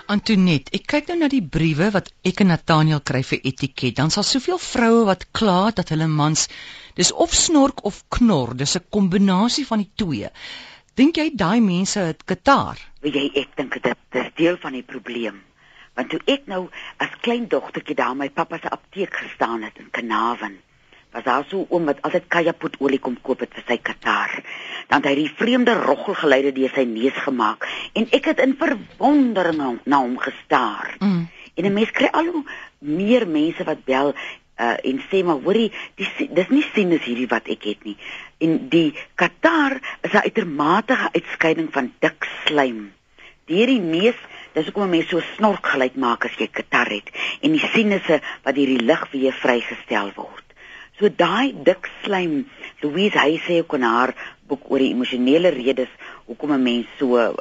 Antoinette, ek kyk nou na die briewe wat ek en Nathaniel kry vir etiket. Dan sal soveel vroue wat kla dat hulle mans dis of snork of knor, dis 'n kombinasie van die twee. Dink jy daai mense het Qatar? Weet jy, ek dink dit is deel van die probleem. Want toe ek nou as klein dogtertjie daar my pappa se apteek gestaan het in Carnarvon, was daar so 'n oom wat altyd kajapoetolie kom koop het vir sy Qatar. Dan het hy die vreemde roggelgeluide deur sy neus gemaak en ek het in verwondering na hom gestaar. En 'n mens kry al hoe meer mense wat bel en sê maar hoorie, dis nie sinus hierdie wat ek het nie. En die Qatar is 'n uitermate uitskeiding van dik slijm. Deur die neus, dis hoekom 'n mens so snork gelyk maak as jy Qatar het en die sinusse wat deur die lug weer vrygestel word. So daai dik slijm, Louise hy sê ook in haar boek oor die emosionele redes hoekom 'n mens so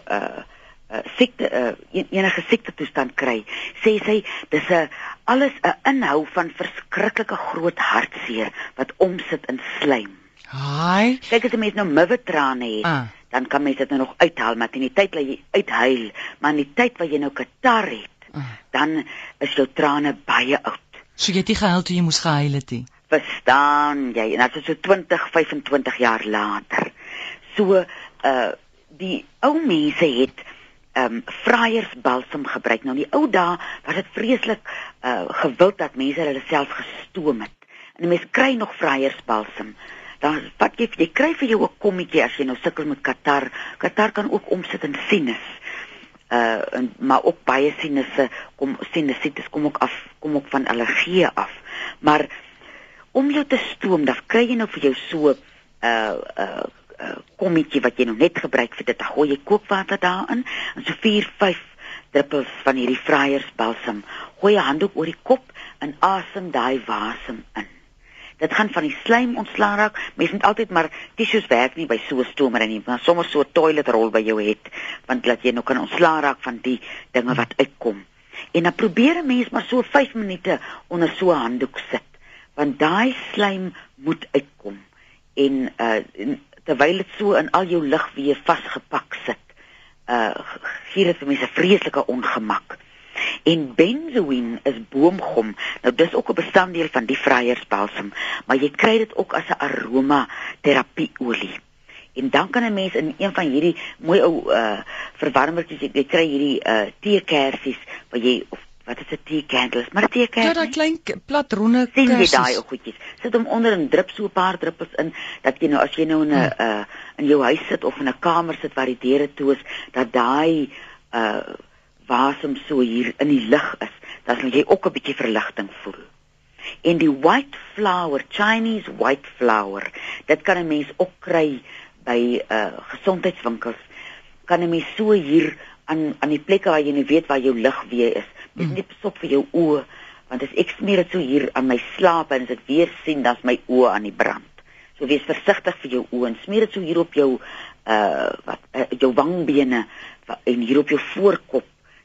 siekte enige siekte toestand kry, sê sy dis alles 'n inhou van verskriklike groot hartseer wat omsit in slijm. Haai. Kyk as 'n mens nou muwetrane het, dan kan mens dit nou nog uithaal, maar in die tyd dat jy uithuil, maar in die tyd wat jy nou Qatar het, dan is jou trane baie oud. So jy het nie gehuil toe jy moes gehuil het nie. Verstaan jy? En dit is so 20, 25 jaar later. So die ou mense het vryersbalsem gebruik. Nou in die ou dae was dit vreeslik gewild dat mense hulle self gestoom het. En die mense kry nog vryersbalsem. Dan wat jy kry vir jou 'n kommetjie as jy nou sukkel met Qatar. Qatar kan ook omsit in sinus. Maar ook baie sinusitis kom ook van allergieë af. Maar om jou te stoom, dan kry jy nou vir jou so kommetjie wat jy nou net gebruik vir dit. Dan gooi jy kookwater daarin en so 4-5 druppels van hierdie vryersbalsem. Gooi 'n handdoek oor die kop en asem daai wasem in. Dit gaan van die slijm ontslaan raak. Mens moet altyd maar tissues werk nie by so 'n stomer nie, maar sommer so 'n toiletrol by jou het, want laat jy nou kan ontslaan raak van die dinge wat uitkom. En dan probeer 'n mens maar so 5 minute onder so 'n handdoek sit, want daai slijm moet uitkom. En terwyl dit so in al jou lug weer vasgepak sit, gee dit vir mense vreeslike ongemak. En benzoïne is boomgom. Nou dis ook 'n bestanddeel van die vryersbalsem, maar jy kry dit ook as 'n aromaterapieolie. En dan kan 'n mens in een van hierdie mooi ou verwarmertjies, jy kry hierdie teekersies waar jy wat is 'n teecandles, maar 'n teekersie. Ja, daai klein plat ronde kersies. Sien jy kersies. daai ou goedjies? Sit hom onder en drup so 'n paar druppels in dat jy nou as jy nou in jou huis sit of in 'n kamer sit waar die deure toe is, dat daai wasem so hier in die lug is, dan sal jy ook 'n bietjie verligting voel. En die white flower, Chinese white flower, dit kan 'n mens ook kry by gesondheidswinkels. Kan 'n mens so hier aan die plekke waar jy nie weet waar jou lug weer is. Dis nie besop vir jou oë, want as ek smeer dit so hier aan my slaap en as ek weer sien, dan's my oë aan die brand. So wees versigtig vir jou oë en smeer dit so hier op jou jou wangbene en hier op jou voorkop.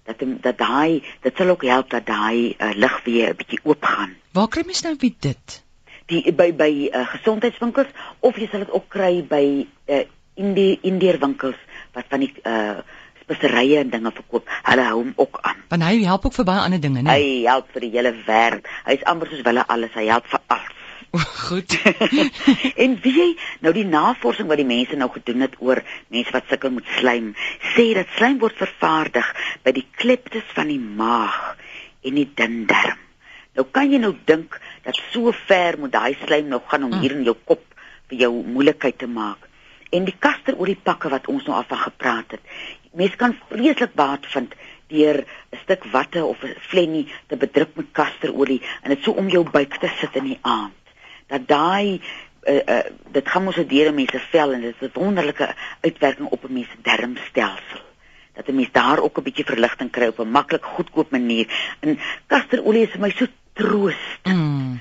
Dat sal ook help dat daai lig weer 'n bietjie oopgaan. Waar kry mens nou weer dit? By gesondheidswinkels, of jy sal dit ook kry by Indeerwinkels wat van die speserye en dinge verkoop. Hulle hou hom ook aan. Want hy help ook vir baie ander dinge, né? Hy help vir die hele wêreld. Hy is amper soos hulle alles, hy help vir alles. Goed. En weet jy, nou die navorsing wat die mense nou gedoen het oor mense wat sukkel met slijm, sê dat slijm word vervaardig by die kleptes van die maag en die dun darm. Nou kan jy nou dink dat so ver moet daai slijm nou gaan om hier in jou kop vir jou moeilikheid te maak. En die kasteroliepakke wat ons nou al van gepraat het. Mense kan vreeslik baat vind deur 'n stuk watte of 'n flennie te bedruk met kasterolie en dit so om jou buik te sit in die aand. Dat daai dit gaan mos deur 'n mens se vel en dit is 'n wonderlike uitwerking op 'n mens se darmstelsel. Dat 'n mens daar ook 'n bietjie verligting kry op 'n maklik goedkoop manier. En kasterolie is vir my so troostend.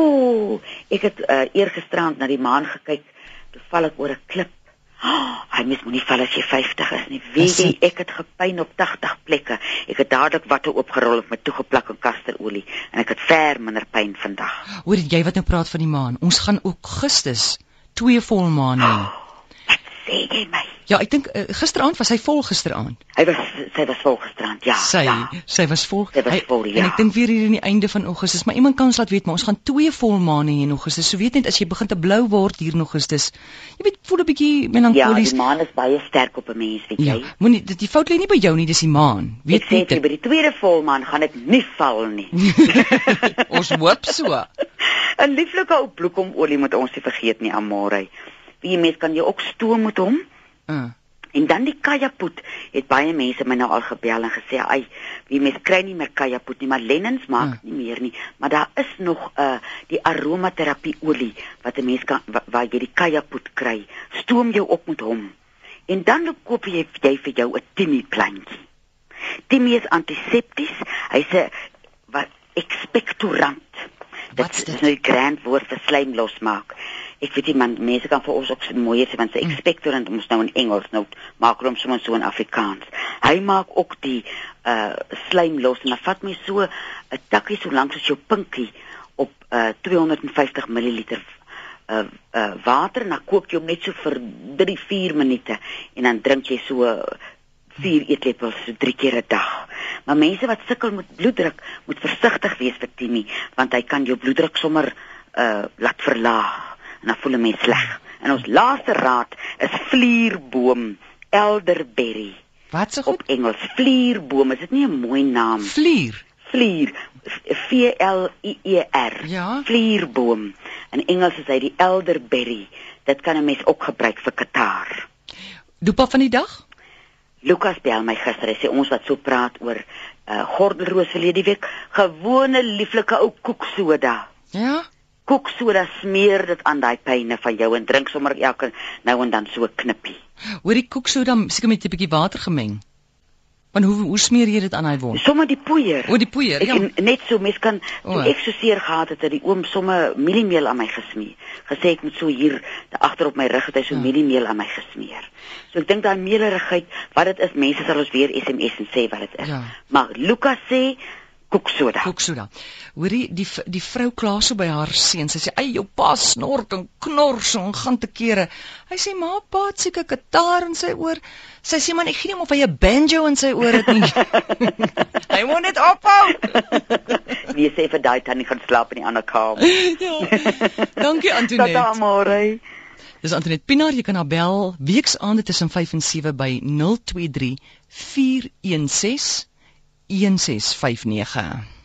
Ek het eergisterand na die maan gekyk, toe val ek oor 'n klip. Hy mens moet nie val as jy 50 is nie. Weet jy, ek het gepyn op 80 plekke. Ek het dadelik watte oopgerol of met toegeplak in kasterolie en ek het ver minder pyn vandag. Hoor jy wat nou praat van die maan? Ons gaan Augustus 2 volmaane hê. Wat sê jy my? Ja, ek dink gisteraand was hy vol gisteraand. Sy was vol gisterand, ja. Sy was vol. Sy was vol, ja. En ek dink weer hier in die einde van Augustus, maar iemand kan ons laat weet, maar ons gaan 2 volmaane hê in Augustus. So weet net as jy begin te blou word hier in Augustus, jy weet, voel 'n bietjie melankolies. Ja, die maan is baie sterk op 'n mens, weet jy. Moenie die fout lê nie by jou nie, dis die maan. Weet jy, by die tweede volmaan gaan dit nie val nie. Ons hoop so. 'n Lieflike ou bloekomolie moet ons nie vergeet nie, Amore. Wie mens kan jy ook stoom met hom? En dan die kajapoet, het baie mense my nou al gebel en gesê, "Ai, wie mens kry nie meer kajapoet nie, maar Lennens maak nie meer nie, maar daar is nog die aromaterapie olie wat 'n mens kan waar jy die kajapoet kry. Stoom jou op met hom. En dan koop jy vir jou 'n Timmy plantjie. Timmy is antisepties, hy's 'n expectorant. Dit is nou die grand woord vir slijm losmaak. Ek weet nie, man, mense kan vir ons ook so mooier sê, want sy expectorant ons nou in Engels, nou maak hom soms so in Afrikaans. Hy maak ook die slijm los, en dan vat my so 'n takkie so lank soos jou pinkie op 250 milliliter water, en dan kook jy hom net so vir 3-4 minute, en dan drink jy so 4 eetlepels so 3 keer 'n dag. Maar mense wat sukkel met bloeddruk, moet versigtig wees vir Timmy, want hy kan jou bloeddruk sommer laat verlaag. En dan voel 'n mens sleg. En ons laaste raad is vlierboom, elderberry. Wat se goed? Op Engels, vlierboom, is dit nie 'n mooi naam? Vlier, V-L-I-E-R. Ja. Vlierboom. In Engels is hy die elderberry. Dit kan 'n mens ook gebruik vir kataar. Dopa van die dag? Lukas bel my gister, hy sê ons wat so praat oor gordelroos verlede week, gewone lieflike ou koeksoda. Ja. Koeksoda, smeer dit aan daai pyne van jou en drink sommer elke nou en dan so 'n knippie. Hoor die koeksoda seker met 'n bietjie water gemeng. Want hoe smeer jy dit aan hy wond? Sommer die poeier. O, die poeier, ja. Net so, mens kan, toe ek so seer gehad het, die oom sommer mieliemeel aan my gesmeer. Gesê ek moet so hier, agter op my rug het hy so mieliemeel aan my gesmeer. So ek dink daai meelerigheid, wat dit is, mense sal ons weer SMS en sê wat dit is. Ja. Maar Lukas sê, koeksoda. Hoorie, die vrou kla so by haar seun. Sy sê, "Ai, jou pa snork en knor so en gaan te kere." Hy sê, "Ma, pa het seker kitaar in sy oor." Sy sê, "Man, ek gee nie of hy 'n banjo in sy oor het nie." Hy moet net ophou. Wie sê vir daai tannie gaan slaap in die ander kamer. Ja. Dankie Antoinette. Tata Amore. Dis Antoinette Pinaar, jy kan haar bel weksaande tussen 5 en 7 by 023 416 1659.